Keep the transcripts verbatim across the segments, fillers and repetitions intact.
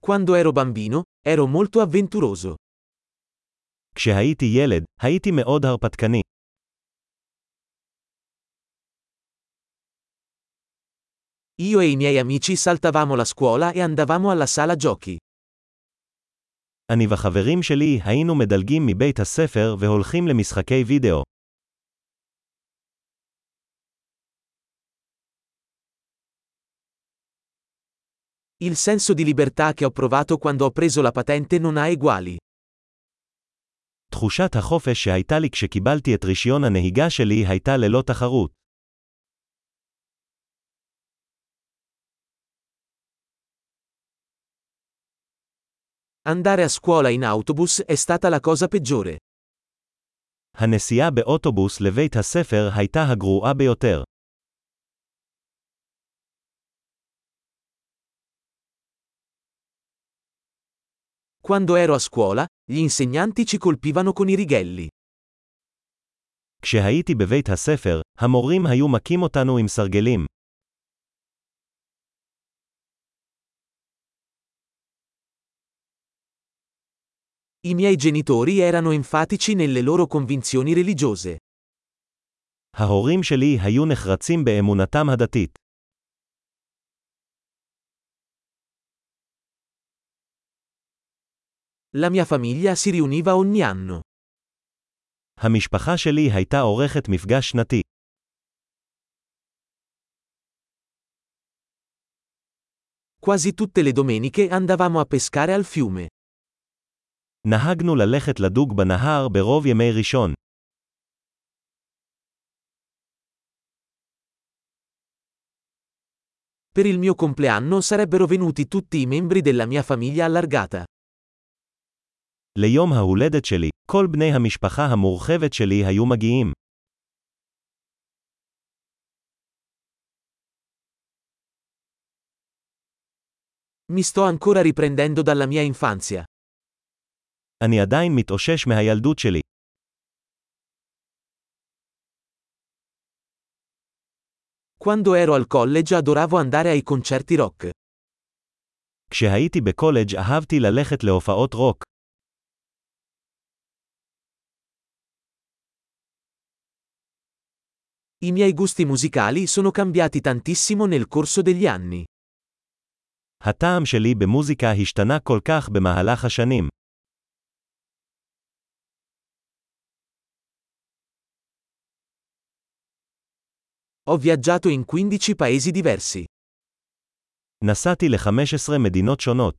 Quando ero bambino, ero molto avventuroso. כשהייתי ילד, הייתי מאוד הרפתקני. Io e i miei amici saltavamo la scuola e andavamo alla sala giochi. אני וחברים שלי היינו מדלגים מבית הספר והולכים למשחקי וידאו. Il senso di libertà che ho provato quando ho preso la patente non ha eguali. תחושת החופש שהייתה לי כשקיבלתי את רישיון הנהיגה שלי הייתה ללא תחרות. Andare a scuola in autobus è stata la cosa peggiore. הנסיעה באוטובוס לבית הספר הייתה הגרועה ביותר. Quando ero a scuola, gli insegnanti ci colpivano con i righelli. כשהייתי בבית הספר, המורים היו מכים אותנו עם סרגלים. I miei genitori erano enfatici nelle loro convinzioni religiose. ההורים שלי היו נחרצים באמונתם הדתית. La mia famiglia si riuniva ogni anno. המשפחה שלי הייתה עורכת מפגש שנתי. Quasi tutte le domeniche andavamo a pescare al fiume. נהגנו ללכת לדוג בנהר ברוב ימי ראשון. Per il mio compleanno sarebbero venuti tutti i membri della mia famiglia allargata. ליום ההולדת שלי, כל בני המשפחה המורחבת שלי היו מגיעים. Mi sto ancora riprendendo dalla mia infanzia. אני עדיין מתאושש מהילדות שלי. Quando ero al college adoravo andare ai concerti rock. כשהייתי בקולג' אהבתי ללכת להופעות רוק. I miei gusti musicali sono cambiati tantissimo nel corso degli anni. הטעם שלי במוזיקה השתנה כל כך במהלך השנים. Ho viaggiato in quindici paesi diversi. נסעתי ל-חמש עשרה מדינות שונות.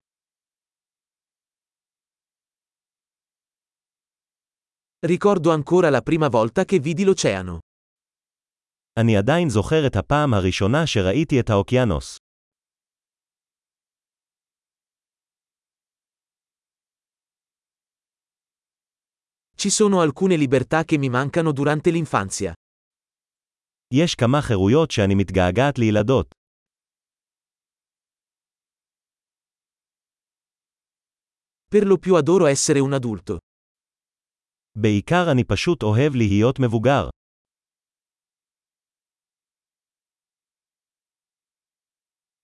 Ricordo ancora la prima volta che vidi l'oceano. אני עדיין זוכר את הפעם הראשונה שראיתי את האוקיינוס. Ci sono alcune libertà che mi mancano durante l'infanzia. יש כמה חירויות שאני מתגעגעת לילדות. Per lo più adoro essere un adulto. בעיקר אני פשוט אוהב להיות מבוגר.